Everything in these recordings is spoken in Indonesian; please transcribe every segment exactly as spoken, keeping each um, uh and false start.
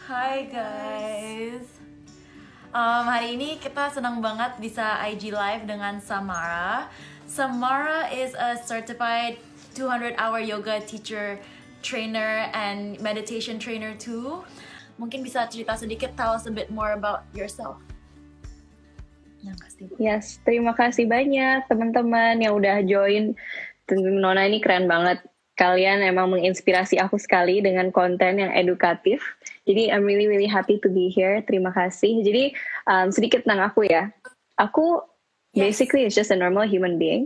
Hai guys. Um, hari ini kita senang banget bisa I G live dengan Samara. Samara is a certified two hundred hour yoga teacher, trainer, and meditation trainer too. Mungkin bisa cerita sedikit, tell us a bit more about yourself. Yes, terima kasih banyak teman-teman yang udah join. Nona ini keren banget. Kalian emang menginspirasi aku sekali dengan konten yang edukatif. Jadi I'm really really happy to be here. Terima kasih. Jadi um, sedikit tentang aku ya. Aku yes. basically is just a normal human being.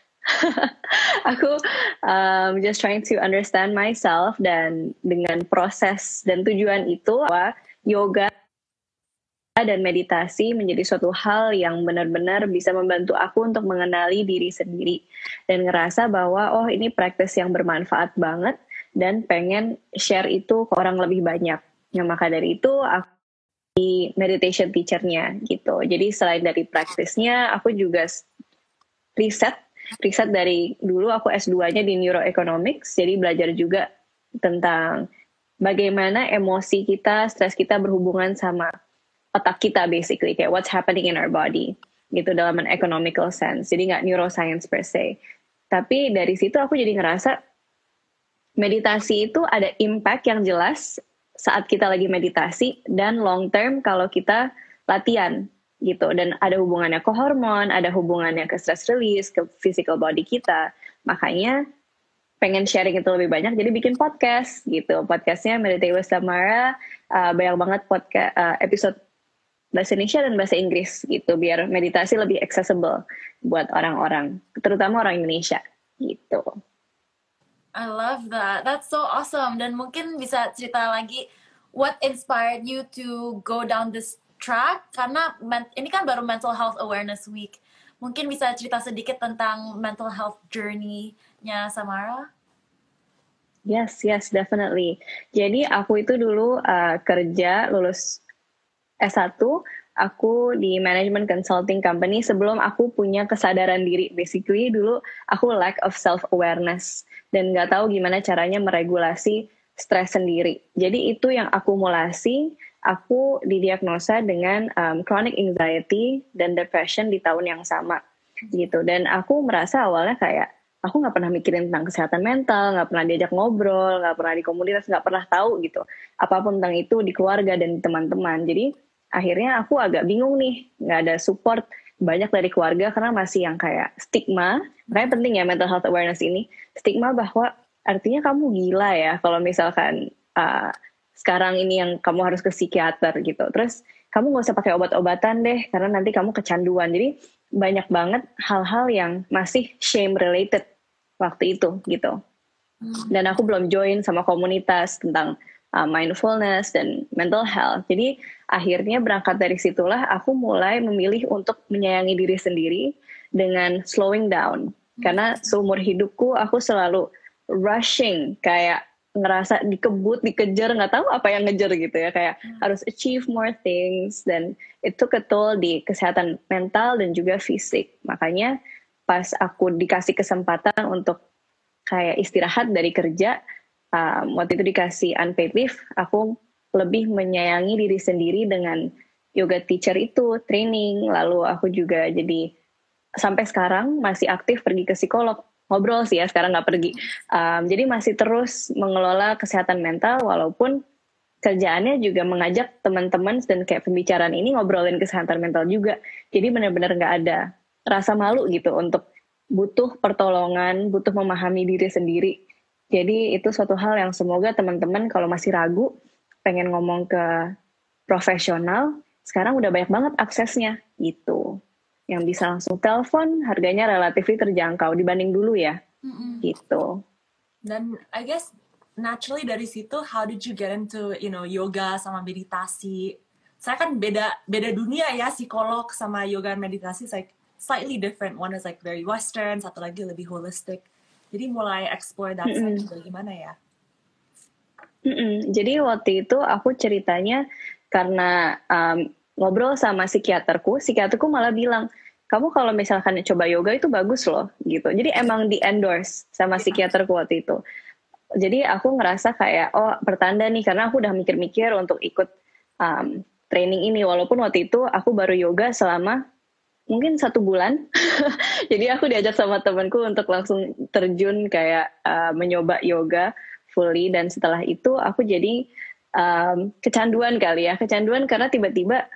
Aku um, just trying to understand myself, dan dengan proses dan tujuan itu bahwa yoga dan meditasi menjadi suatu hal yang benar-benar bisa membantu aku untuk mengenali diri sendiri dan ngerasa bahwa oh ini praktis yang bermanfaat banget dan pengen share itu ke orang lebih banyak. Nah, maka dari itu aku di meditation teacher-nya gitu. Jadi selain dari praktisnya, aku juga riset riset dari dulu aku S dua-nya di neuroeconomics, jadi belajar juga tentang bagaimana emosi kita, stres kita berhubungan sama otak kita, basically kayak what's happening in our body gitu dalam an economical sense. Jadi nggak neuroscience per se. Tapi dari situ aku jadi ngerasa meditasi itu ada impact yang jelas saat kita lagi meditasi dan long term kalau kita latihan gitu, dan ada hubungannya ke hormon, ada hubungannya ke stress release, ke physical body kita. Makanya pengen sharing itu lebih banyak, jadi bikin podcast gitu. Podcastnya Meditate with Samara, uh, banyak banget podcast uh, episode bahasa Indonesia dan bahasa Inggris gitu, biar meditasi lebih accessible buat orang-orang, terutama orang Indonesia gitu. I love that. That's so awesome. Dan mungkin bisa cerita lagi what inspired you to go down this track, karena men- ini kan baru Mental Health Awareness Week. Mungkin bisa cerita sedikit tentang mental health journey-nya Samara? Yes, yes, definitely. Jadi aku itu dulu uh, kerja lulus S satu, aku di management consulting company sebelum aku punya kesadaran diri. Basically dulu aku lack of self-awareness dan gak tahu gimana caranya meregulasi stres sendiri. Jadi itu yang akumulasi, aku didiagnosa dengan um, chronic anxiety dan depression di tahun yang sama gitu. Dan aku merasa awalnya kayak aku gak pernah mikirin tentang kesehatan mental, gak pernah diajak ngobrol, gak pernah di komunitas, gak pernah tahu gitu apapun tentang itu di keluarga dan di teman-teman. Jadi akhirnya aku agak bingung nih, nggak ada support banyak dari keluarga karena masih yang kayak stigma. Makanya penting ya mental health awareness ini, stigma bahwa artinya kamu gila ya kalau misalkan uh, sekarang ini yang kamu harus ke psikiater gitu. Terus kamu nggak usah pakai obat-obatan deh karena nanti kamu kecanduan. Jadi banyak banget hal-hal yang masih shame related waktu itu gitu. Dan aku belum join sama komunitas tentang Uh, mindfulness dan mental health. Jadi akhirnya berangkat dari situlah aku mulai memilih untuk menyayangi diri sendiri dengan slowing down. Karena seumur hidupku aku selalu rushing, kayak ngerasa dikebut, dikejar, nggak tahu apa yang ngejar gitu ya, kayak harus achieve more things, dan itu toll di kesehatan mental dan juga fisik. Makanya pas aku dikasih kesempatan untuk kayak istirahat dari kerja, Um, waktu itu dikasih unpaid leave, aku lebih menyayangi diri sendiri dengan yoga teacher itu, training, lalu aku juga jadi sampai sekarang masih aktif pergi ke psikolog, ngobrol sih ya, sekarang nggak pergi. Um, jadi masih terus mengelola kesehatan mental, walaupun kerjaannya juga mengajak teman-teman dan kayak pembicaraan ini ngobrolin kesehatan mental juga. Jadi benar-benar nggak ada rasa malu gitu untuk butuh pertolongan, butuh memahami diri sendiri. Jadi itu suatu hal yang semoga teman-teman kalau masih ragu, pengen ngomong ke profesional, sekarang udah banyak banget aksesnya gitu. Yang bisa langsung telepon, harganya relatif terjangkau dibanding dulu ya, mm-hmm. gitu. Dan I guess naturally dari situ, how did you get into you know yoga sama meditasi? Saya kan beda beda dunia ya, psikolog sama yoga dan meditasi like slightly different. One is like very Western, satu lagi lebih holistic. Jadi mulai explore that side juga gimana ya? Mm-mm. Jadi waktu itu aku ceritanya karena um, ngobrol sama psikiaterku, psikiaterku malah bilang, kamu kalau misalkan coba yoga itu bagus loh gitu. Jadi emang di endorse sama psikiaterku waktu itu. Jadi aku ngerasa kayak, oh pertanda nih, karena aku udah mikir-mikir untuk ikut um, training ini. Walaupun waktu itu aku baru yoga selama mungkin satu bulan. Jadi aku diajak sama temanku untuk langsung terjun kayak uh, mencoba yoga fully. Dan setelah itu aku jadi um, kecanduan kali ya. Kecanduan karena tiba-tiba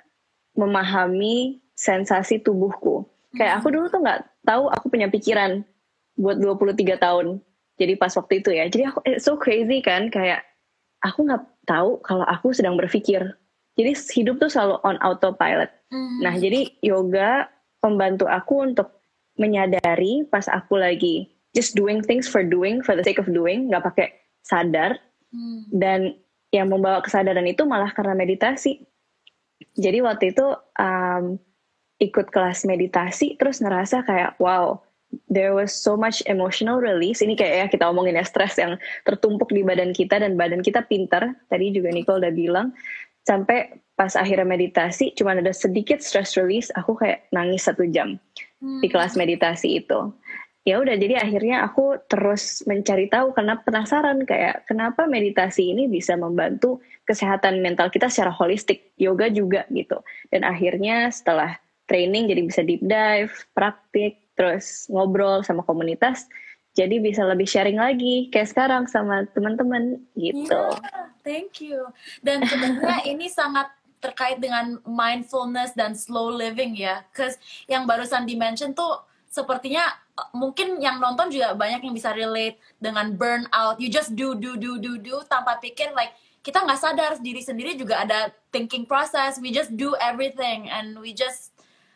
memahami sensasi tubuhku. Kayak aku dulu tuh gak tahu aku punya pikiran buat dua puluh tiga tahun. Jadi pas waktu itu ya. Jadi aku, it's so crazy kan. Kayak aku gak tahu kalau aku sedang berpikir. Jadi hidup tuh selalu on autopilot. Mm-hmm. Nah jadi yoga membantu aku untuk menyadari pas aku lagi just doing things for doing, for the sake of doing. Gak pakai sadar. Mm. Dan yang membawa kesadaran itu malah karena meditasi. Jadi waktu itu um, ikut kelas meditasi terus ngerasa kayak wow, there was so much emotional release. Ini kayak ya kita omongin ya stres yang tertumpuk di badan kita dan badan kita pinter. Tadi juga Nicole udah bilang sampai pas akhirnya meditasi cuma ada sedikit stress release, aku kayak nangis satu jam hmm. di kelas meditasi itu. Ya udah jadi akhirnya aku terus mencari tahu karena penasaran kayak kenapa meditasi ini bisa membantu kesehatan mental kita secara holistik, yoga juga gitu. Dan akhirnya setelah training jadi bisa deep dive, praktik, terus ngobrol sama komunitas, jadi bisa lebih sharing lagi kayak sekarang sama teman-teman gitu. Yeah, thank you. Dan sebenarnya ini sangat terkait dengan mindfulness dan slow living ya. Cause yang barusan di-mention tuh sepertinya mungkin yang nonton juga banyak yang bisa relate dengan burnout. You just do, do, do, do, do tanpa pikir like kita nggak sadar diri sendiri juga ada thinking process. We just do everything and we just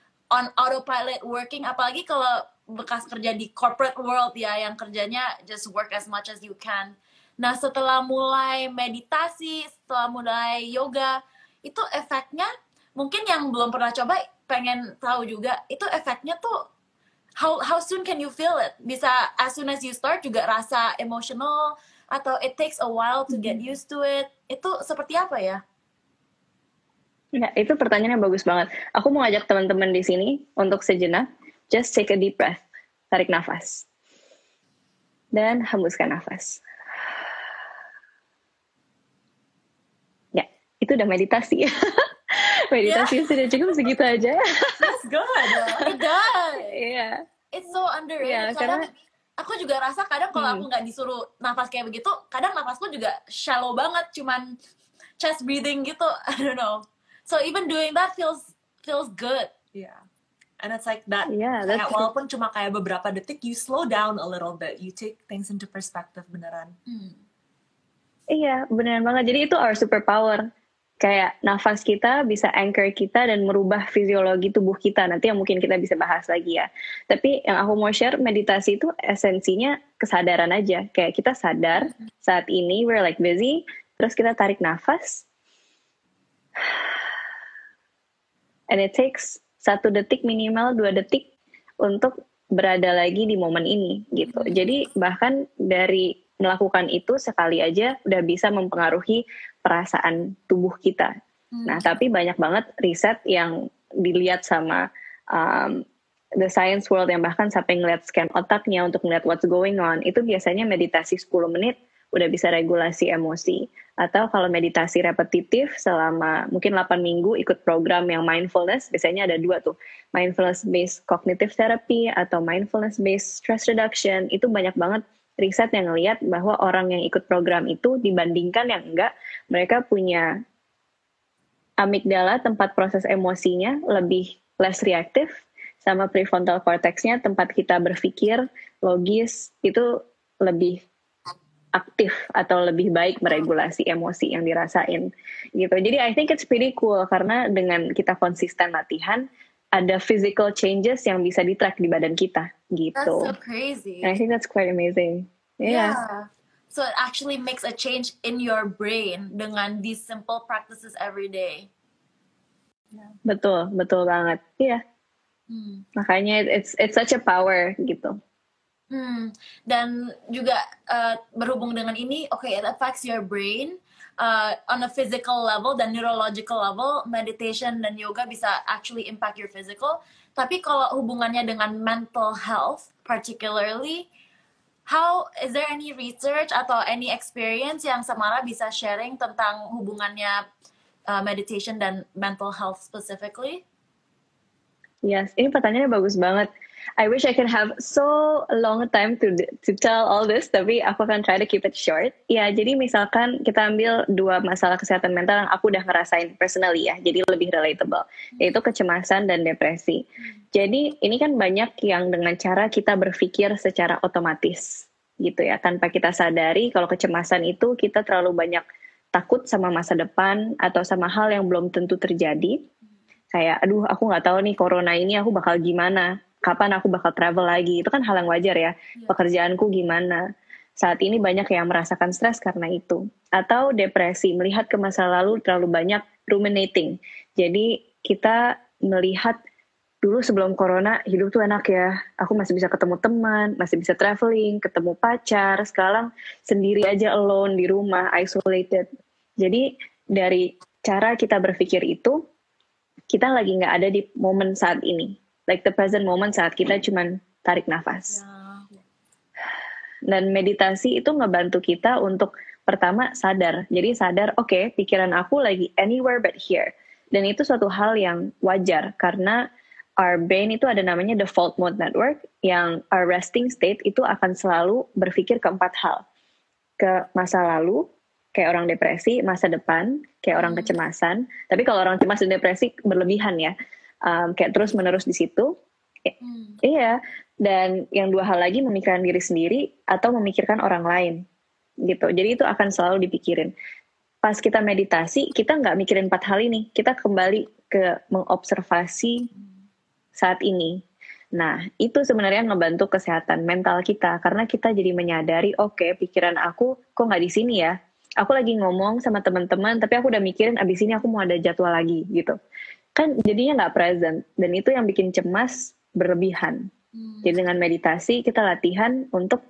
on autopilot working, apalagi kalau bekas kerja di corporate world ya, yang kerjanya just work as much as you can. Nah setelah mulai meditasi, setelah mulai yoga, itu efeknya mungkin yang belum pernah coba pengen tahu juga, itu efeknya tuh how how soon can you feel it? Bisa as soon as you start juga rasa emotional atau it takes a while to get used to it? Itu seperti apa ya? Ya, itu pertanyaannya bagus banget. Aku mau ngajak teman-teman di sini untuk sejenak, just take a deep breath. Tarik nafas. Dan hembuskan nafas. Ya, itu udah meditasi. Meditasi yeah. Sudah cukup segitu aja. That's good. It does. Yeah. It's so underrated. Yeah, kadang, karena, aku juga rasa kadang kalau hmm. aku nggak disuruh nafas kayak begitu, kadang nafasku juga shallow banget, cuman chest breathing gitu. I don't know. So even doing that feels feels good. Yeah. And it's like that. Yeah, kayak walaupun cuma kayak beberapa detik, you slow down a little bit. You take things into perspective beneran. Hmm. Iya, beneran banget. Jadi itu our superpower. Kayak nafas kita bisa anchor kita dan merubah fisiologi tubuh kita. Nanti yang mungkin kita bisa bahas lagi ya. Tapi yang aku mau share, meditasi itu esensinya kesadaran aja. Kayak kita sadar saat ini we're like busy, terus kita tarik nafas. And it takes satu detik minimal, dua detik untuk berada lagi di momen ini gitu. Jadi bahkan dari melakukan itu sekali aja udah bisa mempengaruhi perasaan tubuh kita. Hmm. Nah tapi banyak banget riset yang dilihat sama um, the science world yang bahkan sampai ngeliat scan otaknya untuk ngeliat what's going on. Itu biasanya meditasi sepuluh menit udah bisa regulasi emosi. Atau kalau meditasi repetitif selama mungkin delapan minggu ikut program yang mindfulness, biasanya ada dua tuh, mindfulness based cognitive therapy atau mindfulness based stress reduction. Itu banyak banget riset yang ngelihat bahwa orang yang ikut program itu dibandingkan yang enggak, mereka punya amigdala, tempat proses emosinya lebih less reaktif, sama prefrontal cortex-nya, tempat kita berpikir logis, itu lebih aktif atau lebih baik meregulasi emosi yang dirasain gitu. Jadi I think it's pretty cool karena dengan kita konsisten latihan ada physical changes yang bisa di-track di badan kita gitu. That's so crazy. And I think that's quite amazing. Yeah. Yeah. So it actually makes a change in your brain dengan these simple practices every day. Yeah. Betul, betul banget. Iya. Yeah. Hmm. Makanya it's it's such a power gitu. Hmm, dan juga uh, berhubung dengan ini, okay, it affects your brain uh, on a physical level dan neurological level. Meditation dan yoga bisa actually impact your physical. Tapi kalau hubungannya dengan mental health, particularly, how is there any research atau any experience yang Samara bisa sharing tentang hubungannya uh, meditation dan mental health specifically? Yes, ini pertanyaannya bagus banget. I wish I can have so long time to to tell all this, tapi aku akan try to keep it short. Ya, jadi misalkan kita ambil dua masalah kesehatan mental yang aku udah ngerasain personally ya, jadi lebih relatable, yaitu kecemasan dan depresi. Jadi ini kan banyak yang dengan cara kita berpikir secara otomatis, gitu ya, tanpa kita sadari kalau kecemasan itu kita terlalu banyak takut sama masa depan atau sama hal yang belum tentu terjadi. Kayak, aduh aku nggak tahu nih corona ini aku bakal gimana, kapan aku bakal travel lagi, itu kan hal yang wajar ya, pekerjaanku gimana. Saat ini banyak yang merasakan stres karena itu. Atau depresi, melihat ke masa lalu terlalu banyak ruminating. Jadi kita melihat dulu sebelum corona hidup tuh enak ya, aku masih bisa ketemu teman, masih bisa traveling, ketemu pacar, sekarang sendiri aja alone di rumah, isolated. Jadi dari cara kita berpikir itu, kita lagi nggak ada di momen saat ini, like the present moment saat kita cuman tarik nafas. Yeah. Dan meditasi itu ngebantu kita untuk pertama sadar, jadi sadar, oke, okay, pikiran aku lagi anywhere but here, dan itu suatu hal yang wajar karena our brain itu ada namanya default mode network, yang our resting state itu akan selalu berpikir ke empat hal, ke masa lalu, kayak orang depresi, masa depan, kayak orang kecemasan. Tapi kalau orang cemas dan depresi berlebihan ya, um, kayak terus menerus di situ. Hmm. Iya. Dan yang dua hal lagi, memikirkan diri sendiri atau memikirkan orang lain, gitu. Jadi itu akan selalu dipikirin. Pas kita meditasi, kita nggak mikirin empat hal ini. Kita kembali ke mengobservasi saat ini. Nah, itu sebenarnya ngebantu kesehatan mental kita karena kita jadi menyadari, oke, okay, pikiran aku kok nggak di sini ya. Aku lagi ngomong sama teman-teman, tapi aku udah mikirin abis ini aku mau ada jadwal lagi gitu. Kan jadinya nggak present, dan itu yang bikin cemas berlebihan. Hmm. Jadi dengan meditasi kita latihan untuk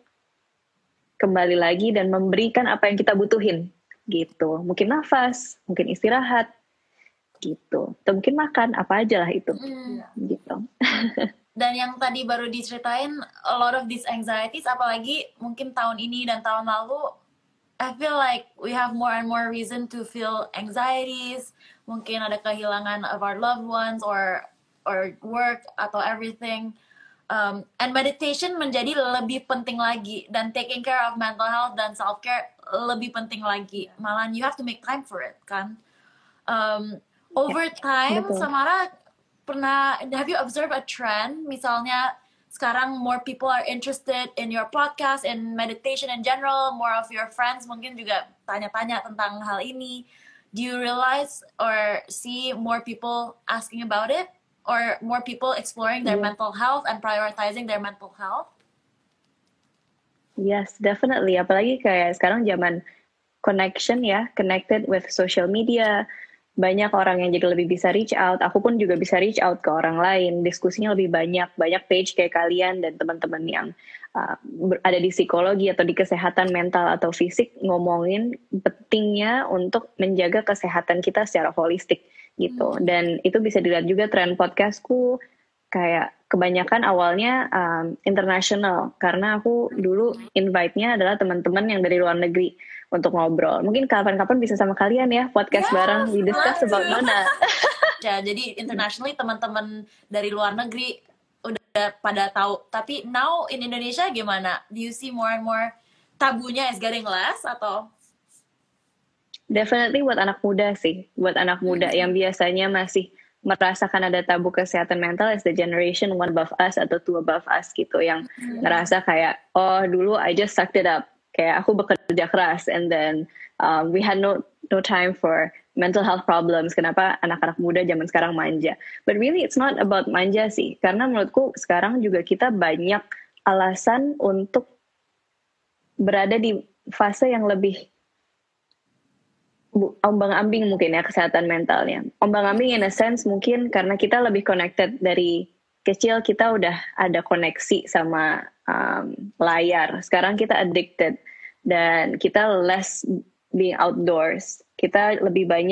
kembali lagi dan memberikan apa yang kita butuhin gitu. Mungkin nafas, mungkin istirahat gitu. Atau mungkin makan, apa aja lah itu. Hmm. Gitu. Dan yang tadi baru diceritain, a lot of these anxieties, apalagi mungkin tahun ini dan tahun lalu, I feel like we have more and more reason to feel anxieties. Mungkin ada kehilangan of our loved ones or or work atau everything. Um, and meditation menjadi lebih penting lagi, dan taking care of mental health dan self care lebih penting lagi. Malah you have to make time for it, kan? Um, over time, betul. Samara pernah, have you observed a trend? Misalnya sekarang more people are interested in your podcast and meditation in general, more of your friends mungkin juga tanya-tanya tentang hal ini. Do you realize or see more people asking about it, or more people exploring their yeah. mental health and prioritizing their mental health? Yes, definitely. Apalagi kayak sekarang zaman connection ya, connected with social media. Banyak orang yang jadi lebih bisa reach out. Aku pun juga bisa reach out ke orang lain. Diskusinya lebih banyak. Banyak page kayak kalian dan teman-teman yang uh, ada di psikologi atau di kesehatan mental atau fisik ngomongin pentingnya untuk menjaga kesehatan kita secara holistik gitu. Hmm. Dan itu bisa dilihat juga tren podcastku. Kayak kebanyakan awalnya um, international. Karena aku dulu invite-nya adalah teman-teman yang dari luar negeri untuk ngobrol. Mungkin kapan-kapan bisa sama kalian ya, podcast yes, bareng, we discuss about Nona. Ya, jadi internationally teman-teman dari luar negeri udah pada tahu. Tapi now in Indonesia gimana? Do you see more and more tabunya is getting less atau? Definitely buat anak muda sih. Buat anak muda hmm. yang biasanya masih merasakan ada tabu kesehatan mental is the generation one above us atau two above us gitu. Yang hmm. ngerasa kayak, oh dulu I just sucked it up. Kayak aku bekerja keras and then um, we had no no time for mental health problems. Kenapa anak-anak muda zaman sekarang manja? But really it's not about manja sih. Karena menurutku sekarang juga kita banyak alasan untuk berada di fase yang lebih ombang-ambing mungkin ya kesehatan mentalnya. Ombang-ambing in a sense mungkin karena kita lebih connected dari kecil, kita udah ada koneksi sama um, layar. Sekarang kita addicted dan kita less being outdoors. Kita lebih banyak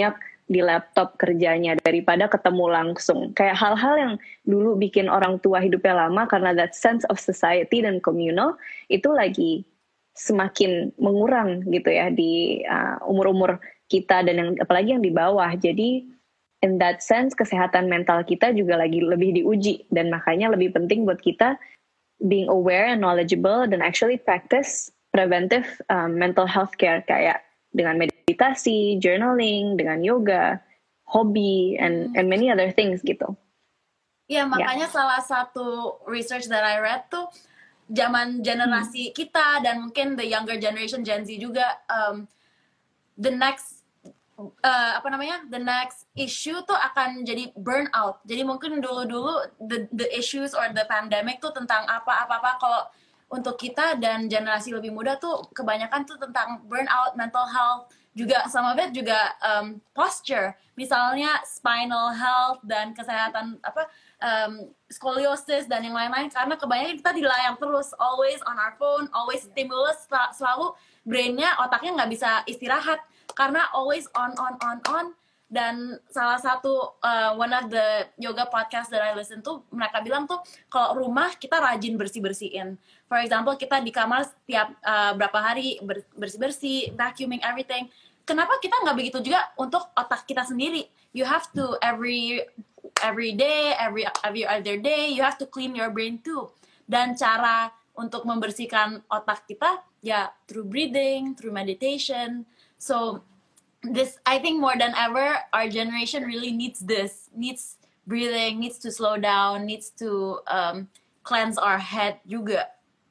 di laptop kerjanya daripada ketemu langsung. Kayak hal-hal yang dulu bikin orang tua hidupnya lama karena that sense of society dan communal itu lagi semakin mengurang gitu ya di uh, umur-umur kita dan yang apalagi yang di bawah. Jadi in that sense kesehatan mental kita juga lagi lebih diuji dan makanya lebih penting buat kita being aware and knowledgeable dan actually practice preventive um, mental health care kayak dengan meditasi, journaling, dengan yoga, hobi, and and many other things gitu. Iya, makanya yeah. salah satu research that I read tuh zaman generasi hmm. kita dan mungkin the younger generation Gen Z juga, um, the next uh, apa namanya, the next issue tuh akan jadi burnout. Jadi mungkin dulu-dulu the the issues or the pandemic tuh tentang apa-apa-apa kalau untuk kita dan generasi lebih muda tuh kebanyakan tuh tentang burnout, mental health, juga some of it juga um, posture, misalnya spinal health dan kesehatan apa um, scoliosis dan yang lain-lain karena kebanyakan kita di layar terus, always on our phone, always stimulus, selalu brainnya, otaknya nggak bisa istirahat karena always on on on on. Dan salah satu uh, one of the yoga podcast that I listen to, mereka bilang tuh kalau rumah kita rajin bersih-bersihin. For example, kita di kamar setiap uh, berapa hari bersih-bersih, vacuuming everything. Kenapa kita nggak begitu juga untuk otak kita sendiri? You have to every every day, every every other day, you have to clean your brain too. Dan cara untuk membersihkan otak kita ya through breathing, through meditation. So this, I think more than ever, our generation really needs this, needs breathing, needs to slow down, needs to um, cleanse our head juga.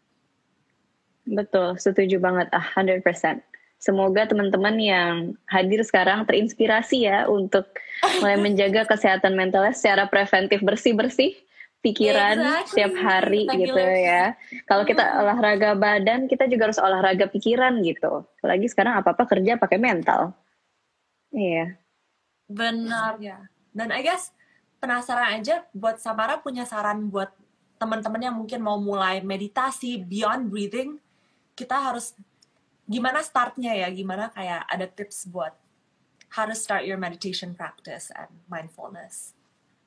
Betul, setuju banget, one hundred percent. Semoga teman-teman yang hadir sekarang terinspirasi ya untuk mulai menjaga kesehatan mentalnya secara preventif, bersih-bersih pikiran exactly. Setiap hari kita gitu gila. Ya. Kalau kita olahraga badan, kita juga harus olahraga pikiran gitu. Apalagi sekarang apa-apa kerja pakai mental. Iya, benar ya. Dan I guess penasaran aja buat Samara punya saran buat teman-teman yang mungkin mau mulai meditasi beyond breathing, kita harus gimana startnya ya? Gimana kayak ada tips buat how to start your meditation practice and mindfulness?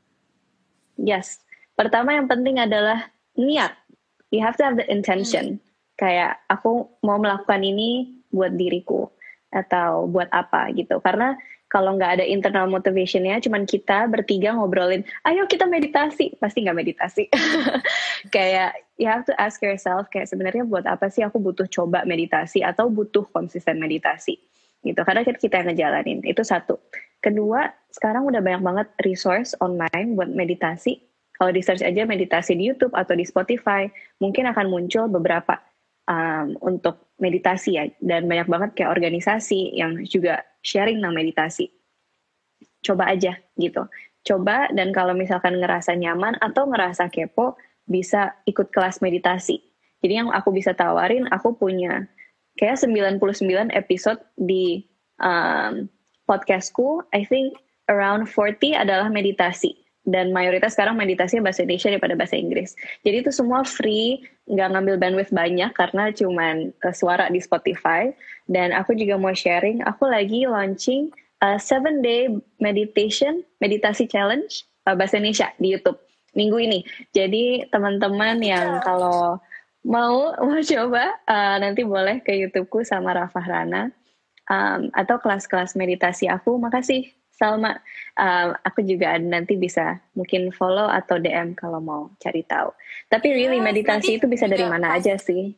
Yes, pertama yang penting adalah niat. You have to have the intention. Hmm. Kayak aku mau melakukan ini buat diriku. Atau buat apa gitu, karena kalau nggak ada internal motivationnya, cuman kita bertiga ngobrolin, ayo kita meditasi, pasti nggak meditasi. Kayak you have to ask yourself, kayak sebenarnya buat apa sih aku butuh coba meditasi atau butuh konsisten meditasi gitu, karena kita yang ngejalanin. Itu satu. Kedua, sekarang udah banyak banget resource online buat meditasi. Kalau di search aja meditasi di YouTube atau di Spotify, mungkin akan muncul beberapa Um, untuk meditasi ya, dan banyak banget kayak organisasi yang juga sharing tentang meditasi. Coba aja gitu, coba, dan kalau misalkan ngerasa nyaman atau ngerasa kepo, bisa ikut kelas meditasi. Jadi yang aku bisa tawarin, aku punya kayak sembilan puluh sembilan episode di um, podcastku, I think around forty adalah meditasi. Dan mayoritas sekarang meditasinya bahasa Indonesia daripada bahasa Inggris. Jadi itu semua free, nggak ngambil bandwidth banyak karena cuman uh, suara di Spotify. Dan aku juga mau sharing, aku lagi launching a seven day meditation, meditasi challenge uh, bahasa Indonesia di YouTube minggu ini. Jadi teman-teman yang kalau mau mau coba, uh, nanti boleh ke YouTubeku sama Rafa Rana um, atau kelas-kelas meditasi aku. Makasih Salma, uh, aku juga nanti bisa mungkin follow atau D M kalau mau cari tahu. Tapi really yes, meditasi itu bisa dari mana pas. Aja sih.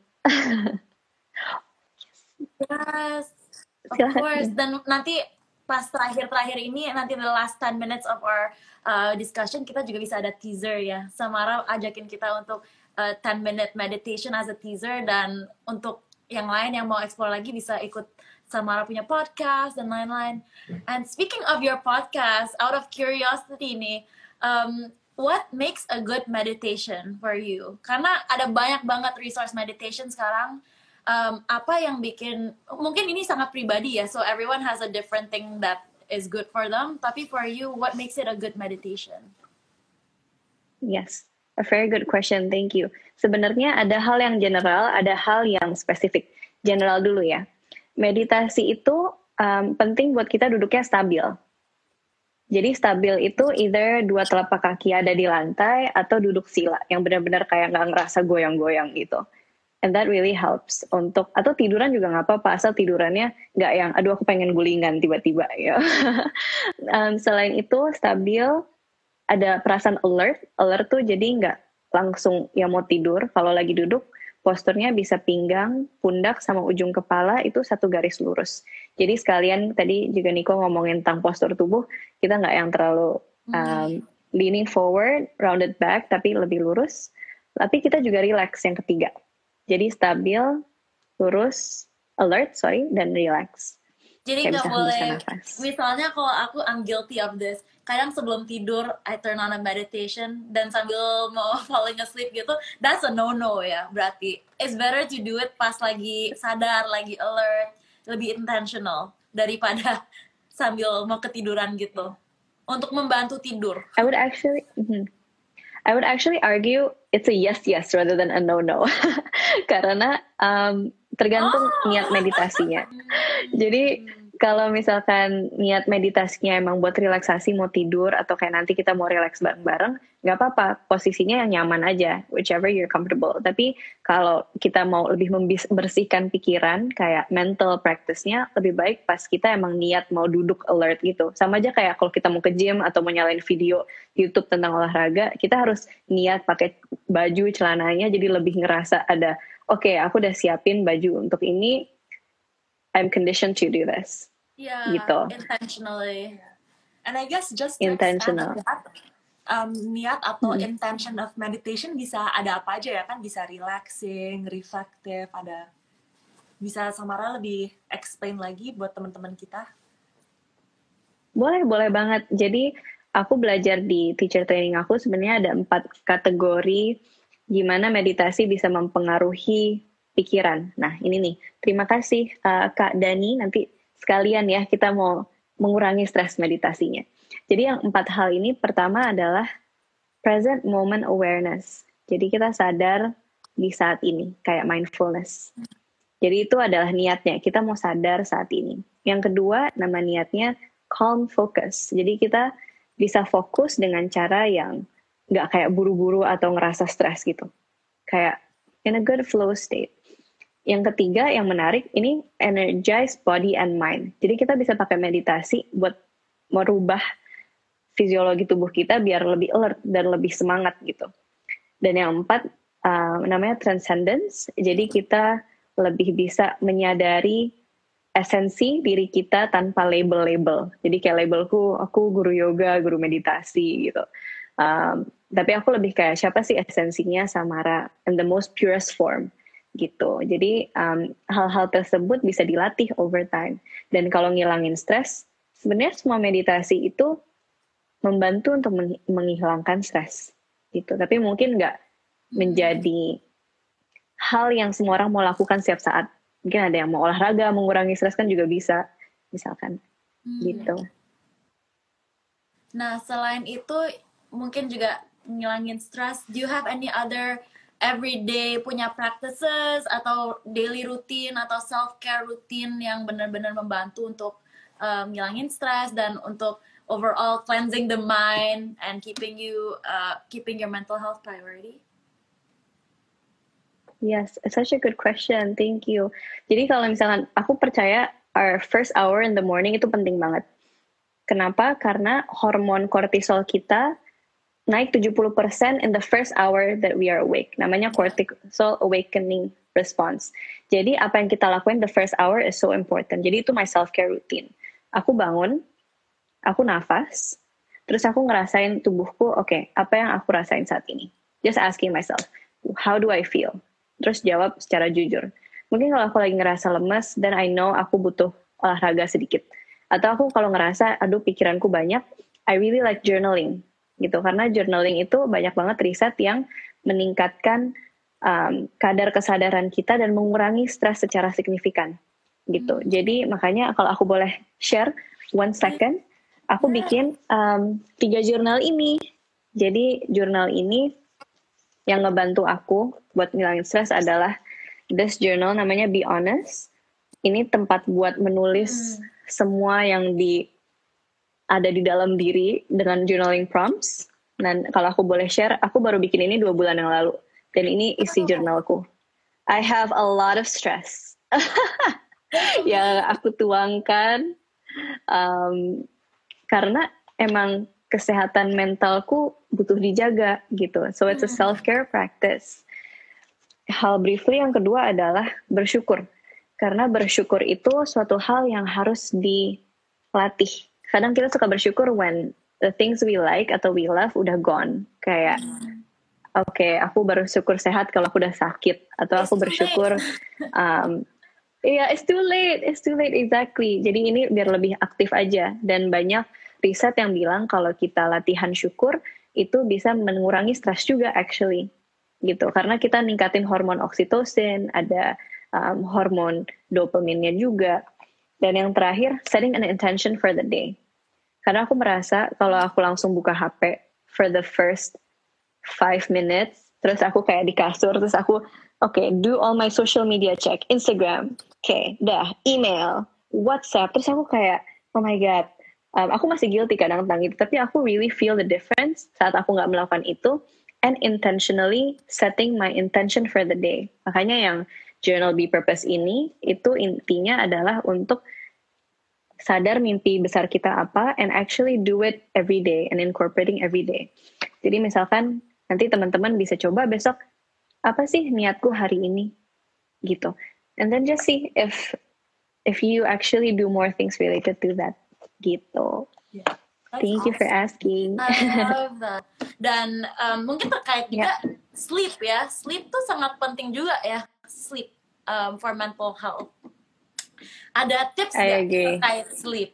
Yes, of course. Dan nanti pas terakhir-terakhir ini, nanti the last ten minutes of our uh, discussion, kita juga bisa ada teaser ya. Samara ajakin kita untuk uh, ten minute meditation as a teaser, dan untuk yang lain yang mau explore lagi bisa ikut Samara punya podcast dan lain-lain. And speaking of your podcast, out of curiosity nih, um, what makes a good meditation for you? Karena ada banyak banget resource meditation sekarang. Um, apa yang bikin, mungkin ini sangat pribadi ya, so everyone has a different thing that is good for them. Tapi for you, what makes it a good meditation? Yes, a very good question. Thank you. Sebenarnya ada hal yang general, ada hal yang spesifik. General dulu ya. Meditasi itu um, penting buat kita duduknya stabil. Jadi stabil itu either dua telapak kaki ada di lantai atau duduk sila yang benar-benar kayak nggak ngerasa goyang-goyang gitu. And that really helps untuk, atau tiduran juga nggak apa-apa asal tidurannya nggak yang aduh aku pengen gulingan tiba-tiba ya. um, selain itu stabil, ada perasaan alert. Alert tuh jadi nggak langsung ya mau tidur. Kalau lagi duduk posturnya bisa pinggang, pundak sama ujung kepala itu satu garis lurus. Jadi sekalian tadi juga Nico ngomongin tentang postur tubuh, kita nggak yang terlalu um, leaning forward, rounded back, tapi lebih lurus. Tapi kita juga relax yang ketiga. Jadi stabil, lurus, alert, sorry, dan relax. Jadi nggak boleh, misalnya kalau aku, I'm guilty of this. Kadang sebelum tidur, I turn on a meditation, dan sambil mau falling asleep gitu, that's a no-no ya, berarti. It's better to do it pas lagi sadar, lagi alert, lebih intentional, daripada sambil mau ketiduran gitu. Untuk membantu tidur. I would actually, mm-hmm. I would actually argue it's a yes-yes rather than a no-no. Karena um, tergantung oh. niat meditasinya. Jadi kalau misalkan niat meditasinya emang buat relaksasi, mau tidur, atau kayak nanti kita mau relax bareng-bareng, nggak apa-apa, posisinya yang nyaman aja, whichever you're comfortable. Tapi kalau kita mau lebih membersihkan pikiran, kayak mental practice-nya, lebih baik pas kita emang niat mau duduk alert gitu. Sama aja kayak kalau kita mau ke gym atau mau nyalain video YouTube tentang olahraga, kita harus niat pakai baju, celananya, jadi lebih ngerasa ada, oke, okay, aku udah siapin baju untuk ini, I'm conditioned to do this. Yeah, gitu. Intentionally. And I guess just to intentional. That, um, niat atau hmm. intention of meditation bisa ada apa aja ya kan? Bisa relaxing, reflective, ada. Bisa Samara lebih explain lagi buat teman-teman kita? Boleh, boleh banget. Jadi aku belajar di teacher training aku sebenarnya ada empat kategori gimana meditasi bisa mempengaruhi pikiran. Nah ini nih, terima kasih uh, Kak Dani, nanti sekalian ya kita mau mengurangi stres meditasinya. Jadi yang empat hal ini pertama adalah present moment awareness. Jadi kita sadar di saat ini, kayak mindfulness. Jadi itu adalah niatnya, kita mau sadar saat ini. Yang kedua nama niatnya calm focus. Jadi kita bisa fokus dengan cara yang gak kayak buru-buru atau ngerasa stres gitu. Kayak in a good flow state. Yang ketiga yang menarik ini energize body and mind. Jadi kita bisa pakai meditasi buat merubah fisiologi tubuh kita biar lebih alert dan lebih semangat gitu. Dan yang empat uh, namanya transcendence. Jadi kita lebih bisa menyadari esensi diri kita tanpa label-label. Jadi kayak labelku aku guru yoga, guru meditasi gitu. Um, tapi aku lebih kayak siapa sih esensinya Samara in the most purest form. Gitu. Jadi um, hal-hal tersebut bisa dilatih over time. Dan kalau ngilangin stres, sebenarnya semua meditasi itu membantu untuk menghilangkan stres. Gitu. Tapi mungkin nggak menjadi hal yang semua orang mau lakukan setiap saat. Mungkin ada yang mau olahraga, mengurangi stres kan juga bisa, misalkan. Hmm. Gitu. Nah, selain itu mungkin juga ngilangin stres. Do you have any other everyday punya practices atau daily routine atau self care routine yang benar-benar membantu untuk um, ngilangin stres dan untuk overall cleansing the mind and keeping you uh, keeping your mental health priority? Yes, it's such a good question. Thank you. Jadi kalau misalkan aku percaya our first hour in the morning itu penting banget. Kenapa? Karena hormon kortisol kita naik tujuh puluh persen in the first hour that we are awake. Namanya cortisol awakening response. Jadi apa yang kita lakuin the first hour is so important. Jadi itu my self-care routine. Aku bangun, aku nafas, terus aku ngerasain tubuhku, oke, okay, apa yang aku rasain saat ini? Just asking myself, how do I feel? Terus jawab secara jujur. Mungkin kalau aku lagi ngerasa lemes, then I know aku butuh olahraga sedikit. Atau aku kalau ngerasa, aduh pikiranku banyak, I really like journaling. Gitu, karena journaling itu banyak banget riset yang meningkatkan um, kadar kesadaran kita dan mengurangi stres secara signifikan gitu. Hmm. Jadi makanya kalau aku boleh share one second, aku bikin um, tiga jurnal ini. Jadi jurnal ini yang ngebantu aku buat ngilangin stres adalah this journal namanya Be Honest. Ini tempat buat menulis hmm. semua yang di ada di dalam diri dengan journaling prompts. Dan kalau aku boleh share, aku baru bikin ini dua bulan yang lalu. Dan ini isi jurnalku. I have a lot of stress. Yang aku tuangkan. Um, karena emang kesehatan mentalku butuh dijaga gitu. So it's a self-care practice. Hal briefly yang kedua adalah bersyukur. Karena bersyukur itu suatu hal yang harus dilatih. Kadang kita suka bersyukur when the things we like atau we love udah gone. Kayak, oke, okay, aku bersyukur sehat kalau aku udah sakit. Atau It's aku bersyukur, um, iya, yeah, it's too late, it's too late, exactly. Jadi ini biar lebih aktif aja. Dan banyak riset yang bilang kalau kita latihan syukur, itu bisa mengurangi stres juga actually. Gitu, karena kita ningkatin hormon oksitosin, ada um, hormon dopaminnya juga. Dan yang terakhir, setting an intention for the day. Karena aku merasa kalau aku langsung buka H P for the first five minutes, terus aku kayak di kasur, terus aku, oke, okay, do all my social media check, Instagram, oke, okay, dah, email, WhatsApp, terus aku kayak, oh my god, um, aku masih guilty kadang tentang itu, tapi aku really feel the difference saat aku nggak melakukan itu, and intentionally setting my intention for the day. Makanya yang Journal Be Purpose ini, itu intinya adalah untuk sadar mimpi besar kita apa, and actually do it every day, and incorporating every day. Jadi misalkan, nanti teman-teman bisa coba besok, apa sih niatku hari ini? Gitu. And then just see if if you actually do more things related to that. Gitu. Yeah. Thank you for asking. I love that. Dan um, mungkin terkait juga yeah. sleep ya. Sleep tuh sangat penting juga ya. Sleep um, for mental health. Ada tips nggak terkait sleep?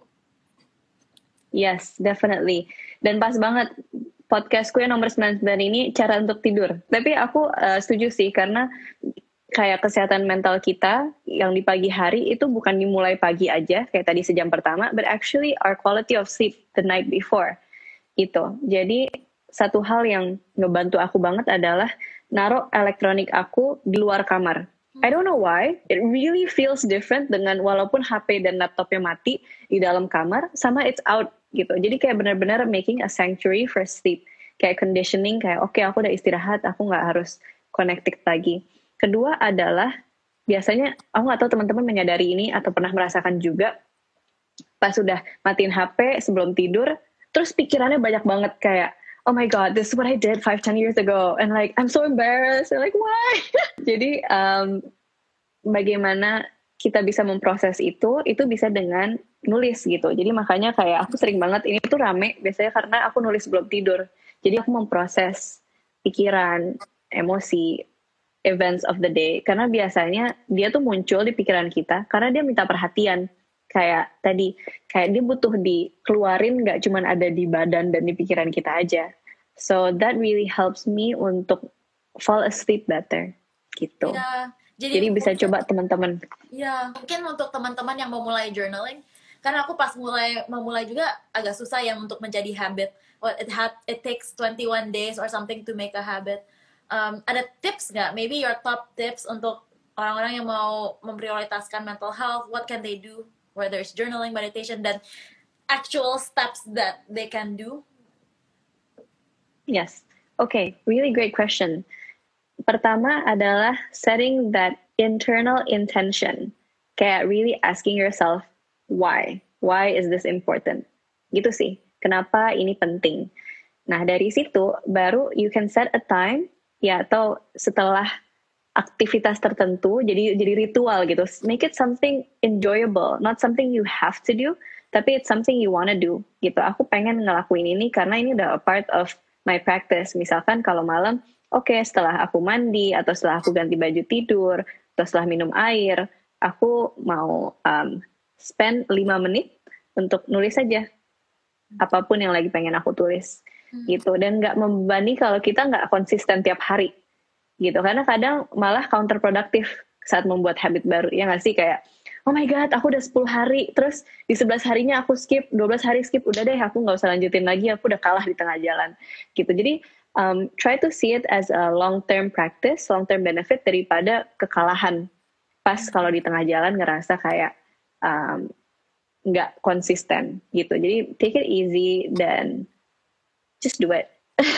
Yes, definitely. Dan pas banget podcastku yang nomor sembilan puluh sembilan ini cara untuk tidur. Tapi aku uh, setuju sih karena kayak kesehatan mental kita yang di pagi hari itu bukan dimulai pagi aja kayak tadi sejam pertama, but actually our quality of sleep the night before. Gitu. Jadi satu hal yang ngebantu aku banget adalah naruh elektronik aku di luar kamar. I don't know why, it really feels different dengan walaupun H P dan laptopnya mati di dalam kamar, sama it's out gitu. Jadi kayak benar-benar making a sanctuary for sleep. Kayak conditioning, kayak oke okay, aku udah istirahat, aku gak harus connected lagi. Kedua adalah, biasanya aku gak tahu teman-teman menyadari ini atau pernah merasakan juga, pas udah matiin H P sebelum tidur, terus pikirannya banyak banget kayak, oh my god, this is what I did five, ten years ago. And like, I'm so embarrassed. And like, why? Jadi, um, bagaimana kita bisa memproses itu, itu bisa dengan nulis gitu. Jadi makanya kayak aku sering banget, ini tuh rame biasanya karena aku nulis sebelum tidur. Jadi aku memproses pikiran, emosi, events of the day. Karena biasanya dia tuh muncul di pikiran kita, karena dia minta perhatian. Kayak tadi, kayak dia butuh dikeluarin gak cuman ada di badan dan di pikiran kita aja. So that really helps me untuk fall asleep better gitu. Ya, jadi jadi bisa mungkin, coba teman-teman. Ya, mungkin untuk teman-teman yang mau mulai journaling, karena aku pas mulai memulai juga agak susah yang untuk menjadi habit. What it had, it takes twenty-one days or something to make a habit. Um, ada tips nggak? Maybe your top tips untuk orang-orang yang mau memprioritaskan mental health. What can they do? Whether it's journaling, meditation, dan actual steps that they can do? Yes. Okay, really great question. Pertama adalah setting that internal intention. Kayak really asking yourself, why? Why is this important? Gitu sih. Kenapa ini penting? Nah, dari situ baru you can set a time, ya atau setelah aktivitas tertentu, jadi jadi ritual gitu. Make it something enjoyable, not something you have to do, tapi it's something you wanna do gitu. Aku pengen ngelakuin ini karena ini udah a part of my practice. Misalkan kalau malam, oke okay, setelah aku mandi atau setelah aku ganti baju tidur atau setelah minum air, aku mau um, spend lima menit untuk nulis saja apapun yang lagi pengen aku tulis hmm. gitu. Dan nggak membebani kalau kita nggak konsisten tiap hari. Gitu, karena kadang malah counterproductive saat membuat habit baru, ya nggak sih, kayak oh my god aku udah sepuluh hari, terus di sebelas harinya aku skip, dua belas hari skip, udah deh aku nggak usah lanjutin lagi, aku udah kalah di tengah jalan gitu. Jadi um, try to see it as a long term practice, long term benefit daripada kekalahan pas kalau di tengah jalan ngerasa kayak um, nggak konsisten gitu. Jadi take it easy dan just do it.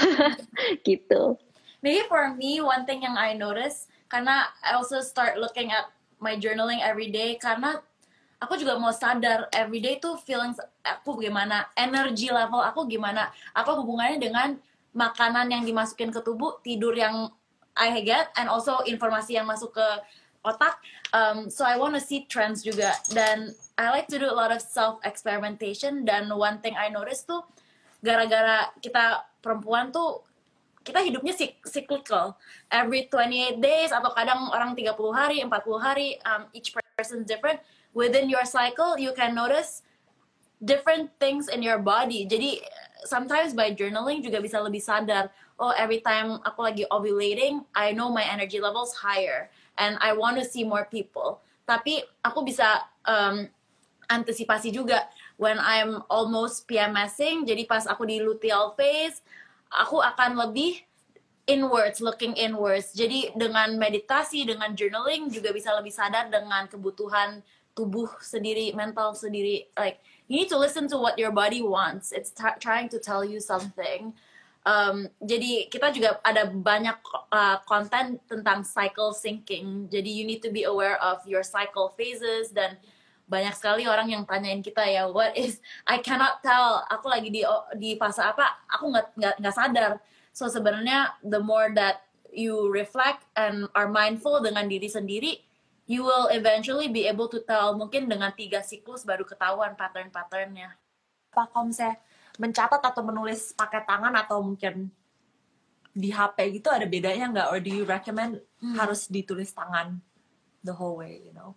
Gitu. Maybe for me, one thing yang I notice, karena I also start looking at my journaling every day, karena aku juga mau sadar everyday tuh feelings aku gimana, energy level aku gimana, apa hubungannya dengan makanan yang dimasukin ke tubuh, tidur yang I get, and also informasi yang masuk ke otak. Um, so I want to see trends juga, dan I like to do a lot of self experimentation. Dan one thing I notice tuh, gara-gara kita perempuan tuh kita hidupnya cyclical, every twenty-eight days atau kadang orang tiga puluh hari, empat puluh hari, um, each person is different. Within your cycle, you can notice different things in your body. Jadi sometimes by journaling juga bisa lebih sadar. Oh, every time aku lagi ovulating, I know my energy levels higher, and I want to see more people. Tapi aku bisa um, antisipasi juga when I'm almost PMSing. Jadi pas aku di luteal phase, aku akan lebih inwards, looking inwards. Jadi dengan meditasi, dengan journaling juga bisa lebih sadar dengan kebutuhan tubuh sendiri, mental sendiri. Like, you need to listen to what your body wants. It's t- trying to tell you something. Um, jadi kita juga ada banyak uh, konten tentang cycle syncing. Jadi you need to be aware of your cycle phases. Dan banyak sekali orang yang tanyain kita ya, what is, I cannot tell, aku lagi di di fase apa, aku nggak nggak nggak sadar. So sebenarnya the more that you reflect and are mindful dengan diri sendiri, you will eventually be able to tell. Mungkin dengan tiga siklus baru ketahuan pattern-patternnya. Apa kalau misalnya mencatat atau menulis pakai tangan atau mungkin di H P gitu ada bedanya nggak? Or do you recommend hmm. harus ditulis tangan the whole way, you know?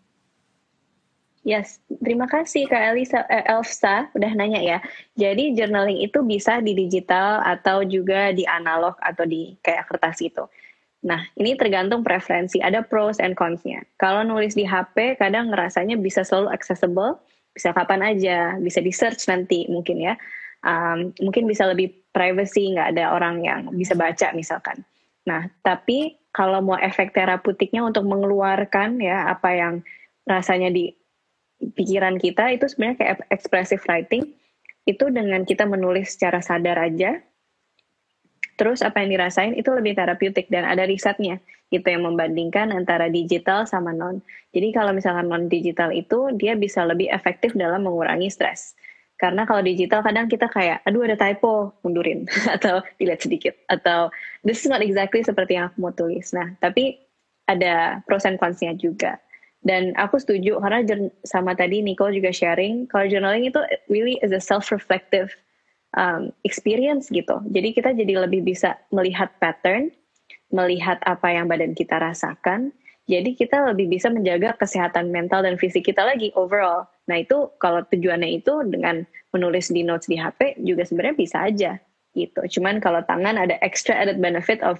Yes, terima kasih Kak Elisa, eh, Elsa udah nanya ya. Jadi journaling itu bisa di digital atau juga di analog atau di kayak kertas gitu. Nah, ini tergantung preferensi, ada pros and cons-nya. Kalau nulis di H P, kadang ngerasanya bisa selalu accessible, bisa kapan aja, bisa di-search nanti mungkin ya. Um, mungkin bisa lebih privacy, nggak ada orang yang bisa baca misalkan. Nah, tapi kalau mau efek terapeutiknya untuk mengeluarkan ya apa yang rasanya di pikiran kita, itu sebenarnya kayak expressive writing, itu dengan kita menulis secara sadar aja, terus apa yang dirasain itu lebih terapeutik. Dan ada risetnya gitu yang membandingkan antara digital sama non. Jadi kalau misalkan non digital itu dia bisa lebih efektif dalam mengurangi stres. Karena kalau digital kadang kita kayak aduh ada typo, mundurin atau delete sedikit, atau this is not exactly seperti yang aku mau tulis. Nah, tapi ada pros and cons-nya juga. Dan aku setuju karena sama tadi Nicole juga sharing kalau journaling itu really is a self-reflective Um, experience gitu. Jadi kita jadi lebih bisa melihat pattern, melihat apa yang badan kita rasakan. Jadi kita lebih bisa menjaga kesehatan mental dan fisik kita lagi overall. Nah itu kalau tujuannya itu dengan menulis di notes di H P juga sebenarnya bisa aja gitu. Cuman kalau tangan ada extra added benefit of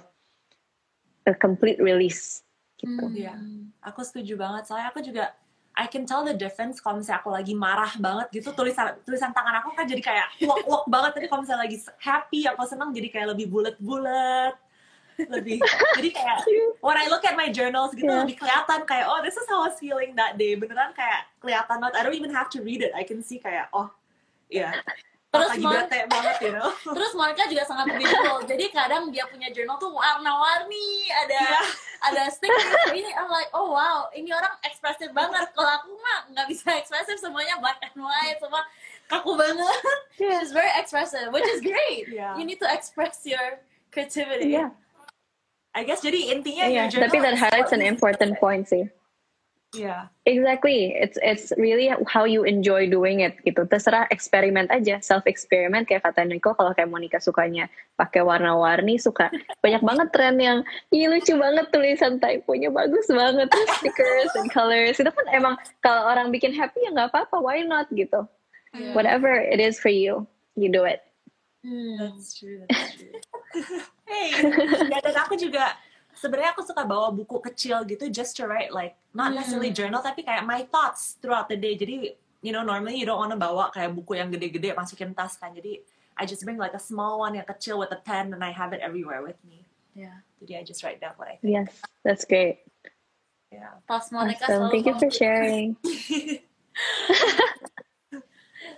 a complete release gitu. Hmm, ya, aku setuju banget. Soalnya aku juga I can tell the difference kalau misalnya aku lagi marah banget gitu, tulisan tulisan tangan aku kan jadi kayak uak-uak banget. Tapi kalau misalnya lagi happy atau senang jadi kayak lebih bulat-bulat, lebih jadi kayak when I look at my journals gitu yeah. lebih kelihatan kayak oh this is how I was feeling that day. Beneran kayak kelihatan banget. I don't even have to read it. I can see kayak oh iya. Yeah. Terus lagi bete banget, you know. Terus Monica juga sangat visual. Jadi kadang dia punya journal tuh warna-warni, ada yeah. ada sticker ini. I'm like, oh wow, ini orang ekspresif banget. Kalau aku mah nggak bisa ekspresif, semuanya black and white, semua kaku banget. Yeah. She's very expressive, which is great. Yeah. You need to express your creativity. Yeah. I guess jadi intinya yeah. your journal. Tapi that highlights an important point sih. Yeah. Exactly. It's it's really how you enjoy doing it gitu. Terserah eksperimen aja, self experiment kayak kata Nico. Kalau kayak Monica sukanya pakai warna-warni, suka banyak banget tren yang ih lucu banget tulisan typonya bagus banget, terus stickers and colors. Itu kan emang kalau orang bikin happy ya nggak apa-apa, why not gitu. Yeah. Whatever it is for you, you do it. Hmm. That's true. That's true. Hey, ya, dan aku juga sebenarnya aku suka bawa buku kecil gitu just to write like not necessarily journal tapi kayak my thoughts throughout the day. Jadi you know normally you don't want to bawa kayak buku yang gede-gede masukin tas kan. Jadi I just bring like a small one yang kecil with a pen and I have it everywhere with me. Yeah. Jadi I just write down what I think. Yes, that's great. Yeah. Pas Monica awesome. Thank you for sharing.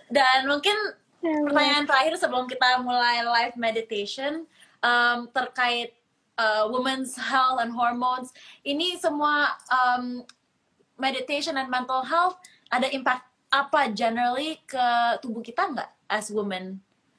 Dan mungkin pertanyaan terakhir sebelum kita mulai live meditation um, terkait uh, women's health and hormones. Ini semua um, meditation and mental health ada impact apa generally ke tubuh kita nggak as women?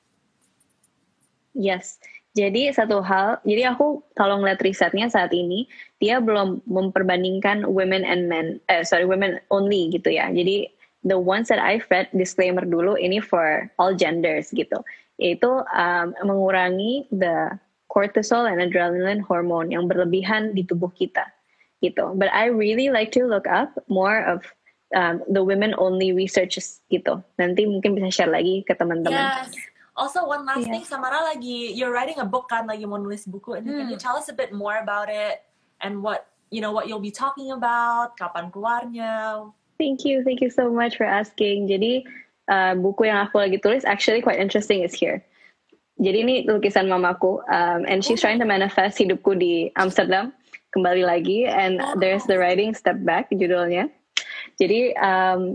Yes. Jadi satu hal, jadi aku kalau ngeliat risetnya saat ini, dia belum memperbandingkan women and men, eh, sorry women only gitu ya. Jadi the ones that I've read, disclaimer dulu, ini for all genders gitu. Yaitu um, mengurangi the cortisol and adrenaline hormone yang berlebihan di tubuh kita gitu. But I really like to look up more of um, the women only researches gitu. Nanti mungkin bisa share lagi ke teman-teman. Yes. Also, one last Yeah. thing, Samara lagi, you're writing a book kan, lagi mau nulis buku. And Can Hmm. you tell us a bit more about it and what, you know, what you'll be talking about, kapan keluarnya? Thank you, thank you so much for asking. Jadi uh, buku yang aku lagi tulis actually quite interesting is here. Jadi ini lukisan mamaku, um, and she's trying to manifest hidupku di Amsterdam kembali lagi, and Wow. there's the writing Step Back judulnya. Jadi um,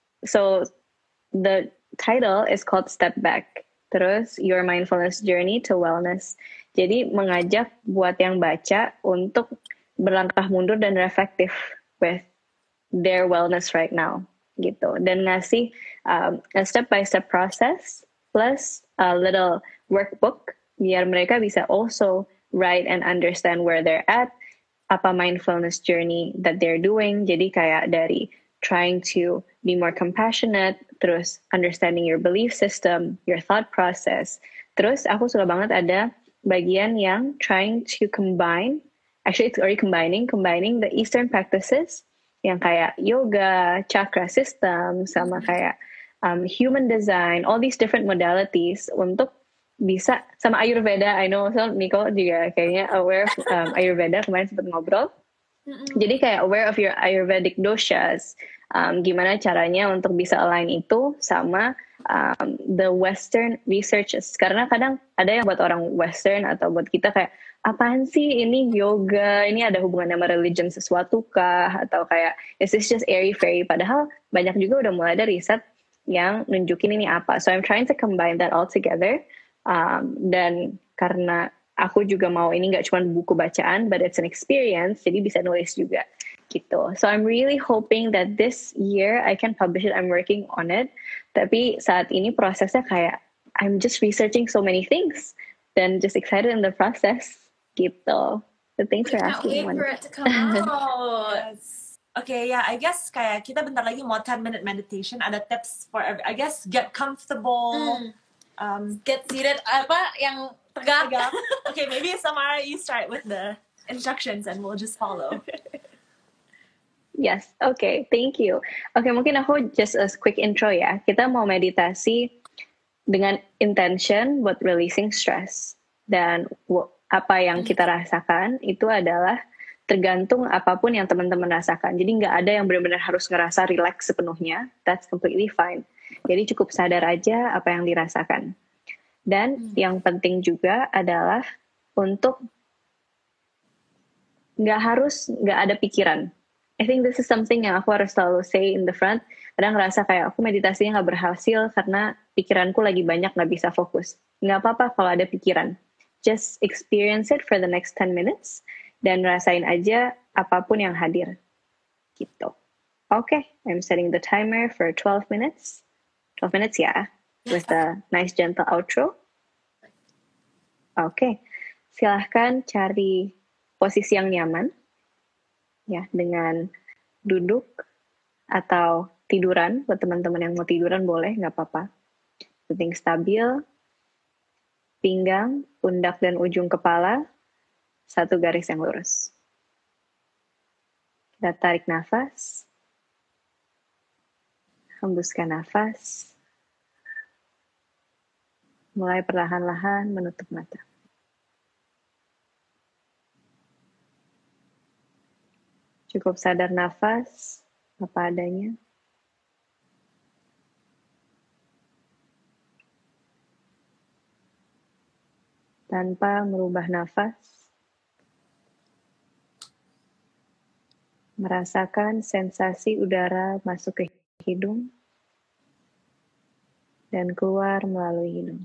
so the title is called Step Back. Terus Your Mindfulness Journey to Wellness. Jadi mengajak buat yang baca untuk berlangkah mundur dan reflektif with their wellness right now gitu, dan ngasih um, a step by step process plus a little workbook biar mereka bisa also write and understand where they're at, apa mindfulness journey that they're doing. Jadi kayak dari trying to be more compassionate, terus understanding your belief system, your thought process. Terus aku suka banget ada bagian yang trying to combine, actually it's already combining, combining the Eastern practices yang kayak yoga, chakra system, sama kayak um, human design, all these different modalities untuk bisa, sama Ayurveda. I know so Nico juga kayaknya aware of um, Ayurveda, kemarin sempat ngobrol. Mm-mm. Jadi kayak aware of your Ayurvedic doshas, um, gimana caranya untuk bisa align itu sama um, the Western researches. Karena kadang ada yang buat orang Western atau buat kita kayak, apaan sih ini yoga, ini ada hubungan sama religion sesuatu kah, atau kayak is this just airy fairy, padahal banyak juga udah mulai ada riset yang nunjukin ini apa. So I'm trying to combine that all together, um, dan karena aku juga mau ini nggak cuma buku bacaan, but it's an experience, jadi bisa nulis juga gitu. So I'm really hoping that this year I can publish it. I'm working on it. Tapi saat ini prosesnya kayak I'm just researching so many things dan just excited in the process gitu. So thanks for Can't asking. wait for it to come out. Yes. Okay, yeah, I guess kayak kita bentar lagi mau ten minute meditation. Ada tips for, every, I guess, get comfortable. Hmm. Um, Get seated, apa yang tegak? tegak. Okay, maybe Samara, you start with the instructions and we'll just follow. Yes, okay, thank you. Okay, mungkin aku just a quick intro ya. Kita mau meditasi dengan intention buat releasing stress. Dan w- apa yang kita rasakan itu adalah tergantung apapun yang teman-teman rasakan. Jadi nggak ada yang benar-benar harus ngerasa relax sepenuhnya. That's completely fine. Jadi cukup sadar aja apa yang dirasakan. Dan Hmm. yang penting juga adalah untuk nggak harus nggak ada pikiran. I think this is something yang aku harus selalu say in the front. Kadang ngerasa kayak aku meditasinya nggak berhasil karena pikiranku lagi banyak, nggak bisa fokus. Nggak apa-apa kalau ada pikiran. Just experience it for the next ten minutes dan rasain aja apapun yang hadir. Gitu. Okay, I'm setting the timer for twelve minutes. twelve minutes ya, with a nice gentle outro. Okay, silahkan cari posisi yang nyaman. Ya, dengan duduk atau tiduran. Buat teman-teman yang mau tiduran boleh, nggak apa-apa. Penting stabil. Pinggang, pundak dan ujung kepala satu garis yang lurus. Kita tarik nafas. Hembuskan nafas. Mulai perlahan-lahan menutup mata. Cukup sadar nafas apa adanya. Tanpa merubah nafas. Merasakan sensasi udara masuk ke hidung. dan keluar melalui hidung.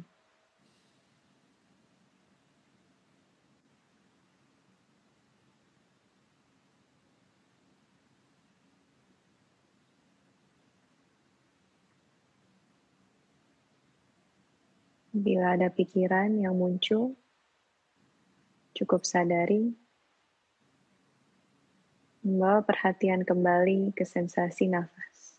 Bila ada pikiran yang muncul, cukup sadari, membawa perhatian kembali ke sensasi nafas.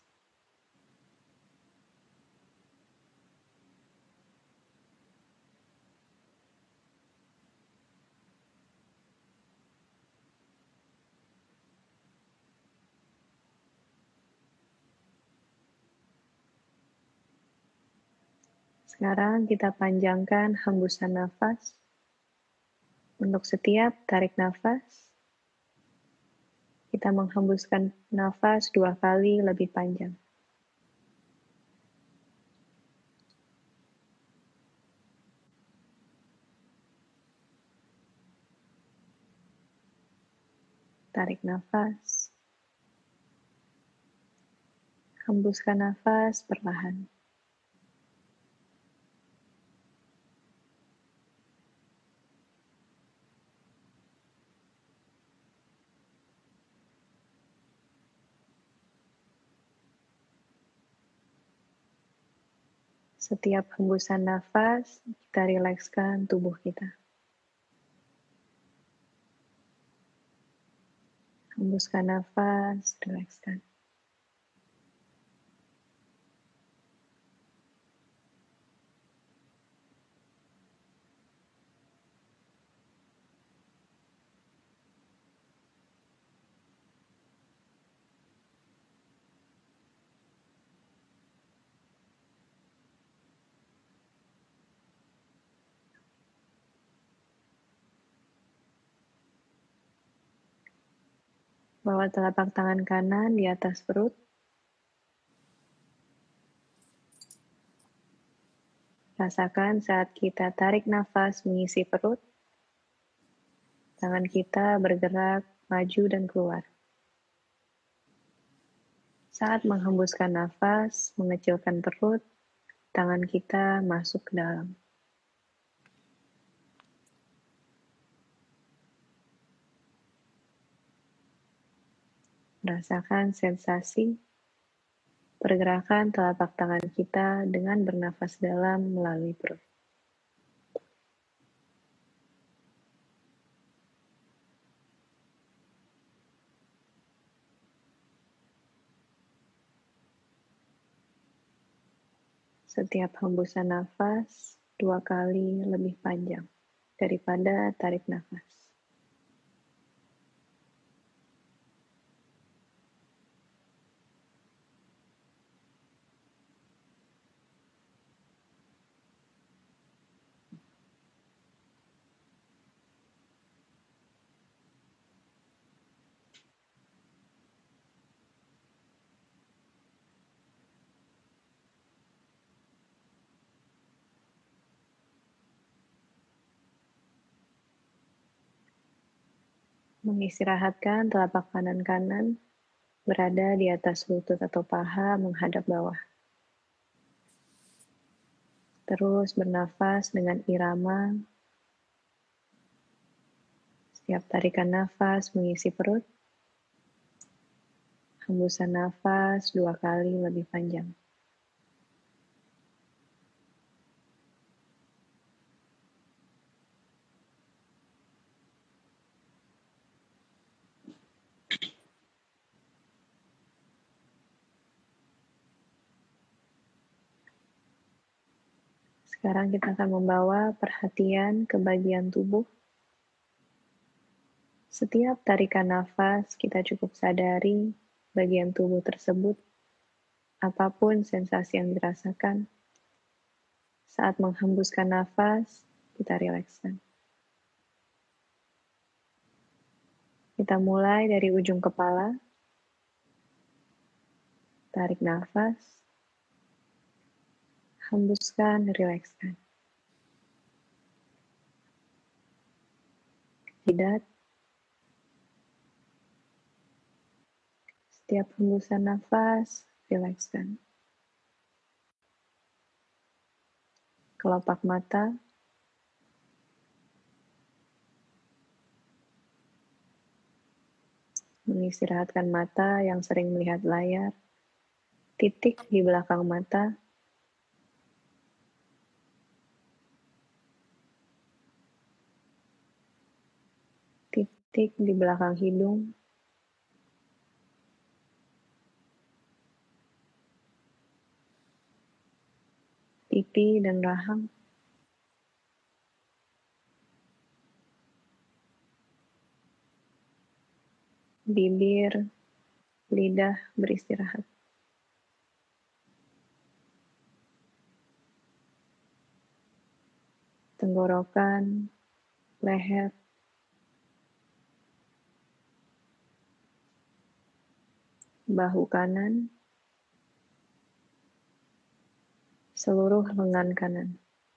Sekarang kita panjangkan hembusan nafas. Untuk setiap tarik nafas, kita menghembuskan nafas dua kali lebih panjang. Tarik nafas. Hembuskan nafas perlahan. Setiap hembusan nafas, kita rilekskan tubuh kita. Hembuskan nafas, rilekskan. Bawa telapak tangan kanan di atas perut. Rasakan saat kita tarik nafas mengisi perut, tangan kita bergerak maju dan keluar. Saat menghembuskan nafas, mengecilkan perut, tangan kita masuk ke dalam. Rasakan sensasi pergerakan telapak tangan kita dengan bernafas dalam melalui perut. Setiap hembusan nafas dua kali lebih panjang daripada tarik nafas. Mengistirahatkan telapak kanan kanan berada di atas lutut atau paha menghadap bawah. Terus bernafas dengan irama. Setiap tarikan nafas mengisi perut. Hembusan nafas dua kali lebih panjang. Sekarang kita akan membawa perhatian ke bagian tubuh. Setiap tarikan nafas, kita cukup sadari bagian tubuh tersebut, apapun sensasi yang dirasakan. Saat menghembuskan nafas, kita rilekskan. Kita mulai dari ujung kepala. Tarik nafas. Hembuskan, rilekskan. Jidat. Setiap hembusan nafas, rilekskan. kelopak mata, mengistirahatkan mata yang sering melihat layar, titik di belakang mata, titik di belakang hidung, pipi dan rahang, bibir, lidah beristirahat. Tenggorokan, leher, bahu kanan, seluruh lengan kanan.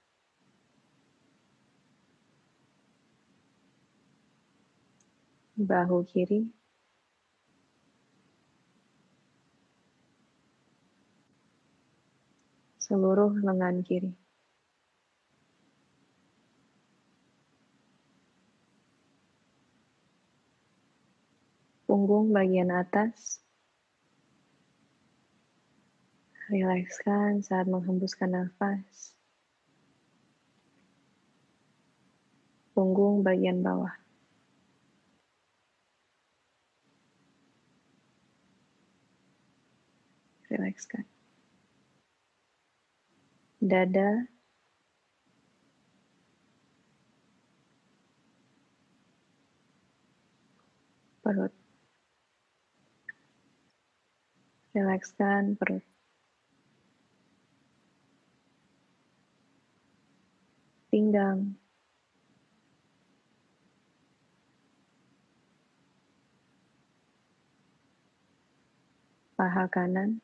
Bahu kiri, seluruh lengan kiri. Punggung bagian atas, rilekskan saat menghembuskan nafas. Punggung bagian bawah. Rilekskan. Dada, perut. Rilekskan perut. Pinggang. Paha kanan.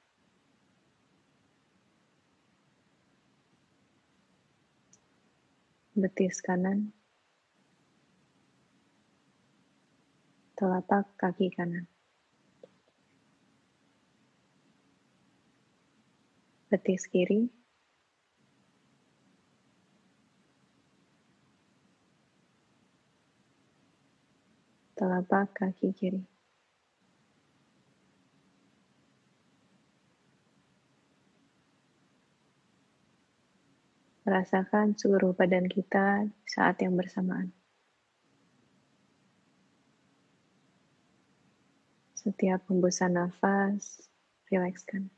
Betis kanan. Telapak kaki kanan. Betis kiri. Telapak kaki kiri. Rasakan seluruh badan kita saat yang bersamaan. Setiap hembusan nafas, rilekskan.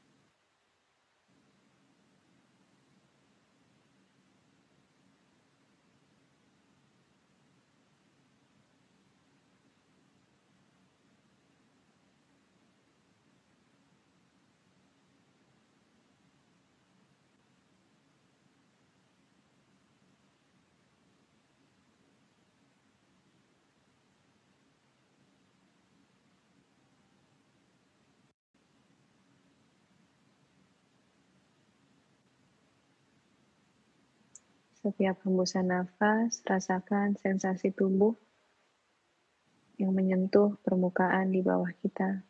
Setiap hembusan nafas, rasakan sensasi tubuh yang menyentuh permukaan di bawah kita.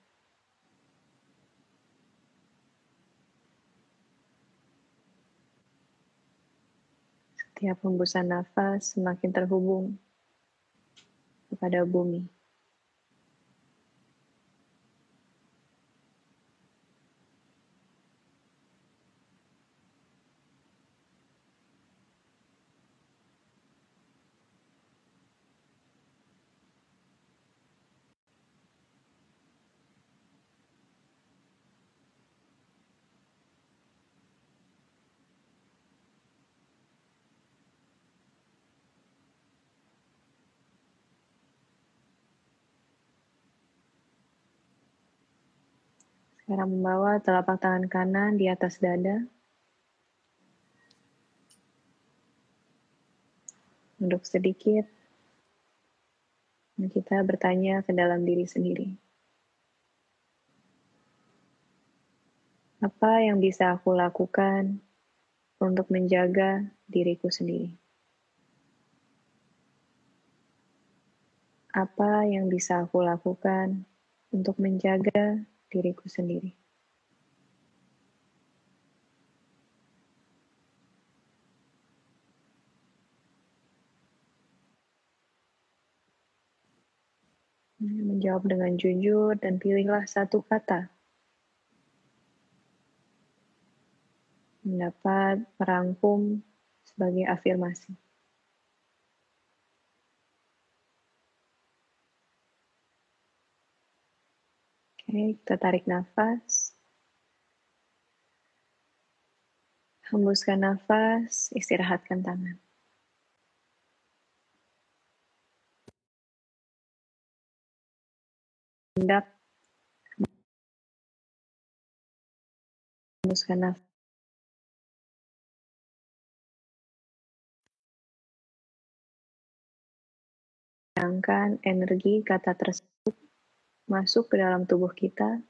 Setiap hembusan nafas semakin terhubung kepada bumi. Sekarang membawa telapak tangan kanan di atas dada. Duduk sedikit. Dan kita bertanya ke dalam diri sendiri. Apa yang bisa aku lakukan untuk menjaga diriku sendiri? Apa yang bisa aku lakukan untuk menjaga diriku sendiri? Menjawab dengan jujur dan pilihlah satu kata. Mendapat merangkum sebagai afirmasi. Oke, kita tarik nafas. Hembuskan nafas, istirahatkan tangan. Hendak hembuskan nafas. Sedangkan energi kata tersebut masuk ke dalam tubuh kita.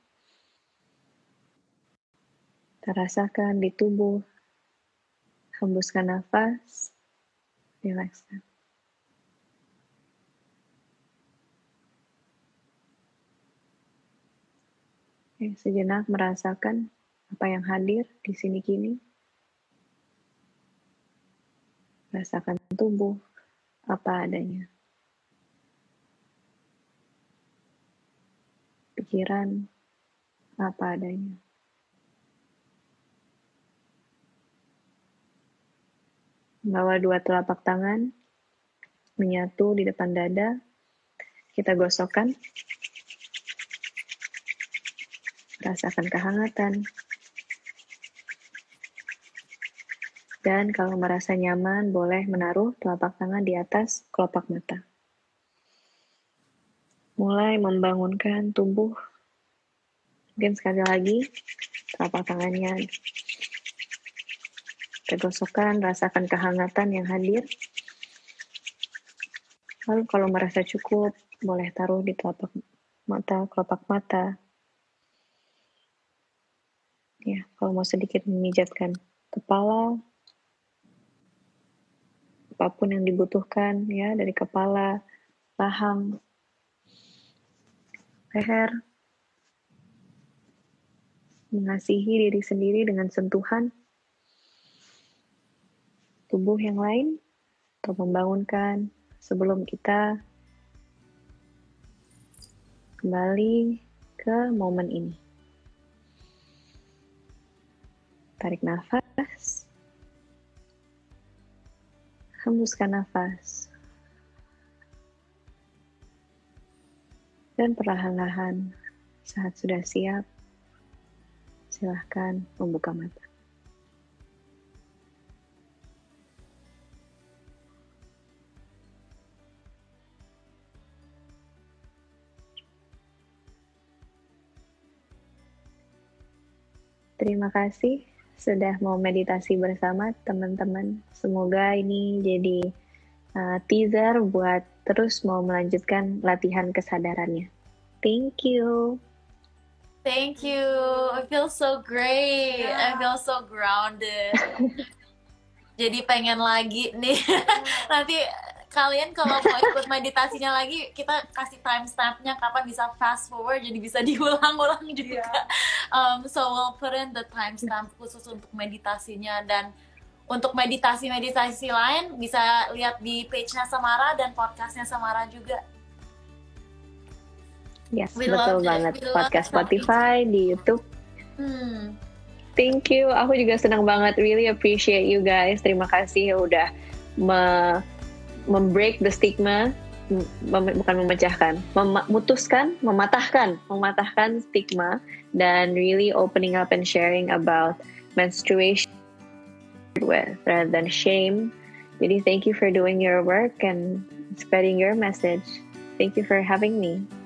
Terasakan di tubuh. Hembuskan nafas. Rilekskan. Oke, sejenak merasakan apa yang hadir di sini kini. Rasakan tubuh apa adanya. Pikiran apa adanya. Bawa dua telapak tangan menyatu di depan dada. Kita gosokkan. Rasakan kehangatan. Dan kalau merasa nyaman, boleh menaruh telapak tangan di atas kelopak mata. Mulai membangunkan tubuh. Mungkin sekali lagi, telapak tangannya tegosokkan, rasakan kehangatan yang hadir. Lalu kalau merasa cukup, boleh taruh di telapak mata, kelopak mata. Ya, kalau mau sedikit memijatkan kepala, apapun yang dibutuhkan, ya, dari kepala, rahang, leher, mengasihi diri sendiri dengan sentuhan tubuh yang lain, atau membangunkan sebelum kita kembali ke momen ini. Tarik nafas, hembuskan nafas, dan perlahan-lahan saat sudah siap, silahkan membuka mata. Terima kasih sudah mau meditasi bersama teman-teman. Semoga ini jadi uh, teaser buat terus mau melanjutkan latihan kesadarannya. Thank you. Thank you. I feel so great. Yeah. I feel so grounded. Jadi pengen lagi nih. Nanti kalian kalau mau ikut meditasinya lagi, kita kasih timestampnya kapan bisa fast forward, jadi bisa diulang-ulang juga. Yeah. Um, so we'll put in the timestamp khusus untuk meditasinya, dan untuk meditasi-meditasi lain bisa lihat di page-nya Samara dan podcast-nya Samara juga. Yes, We betul banget. Podcast Spotify, di YouTube. Hmm. Thank you. Aku juga senang banget. Really appreciate you guys. Terima kasih udah me- membreak the stigma, mem- bukan memecahkan, memutuskan, mematahkan, mematahkan stigma, dan really opening up and sharing about menstruation with rather than shame. Jadi thank you for doing your work and spreading your message. Thank you for having me.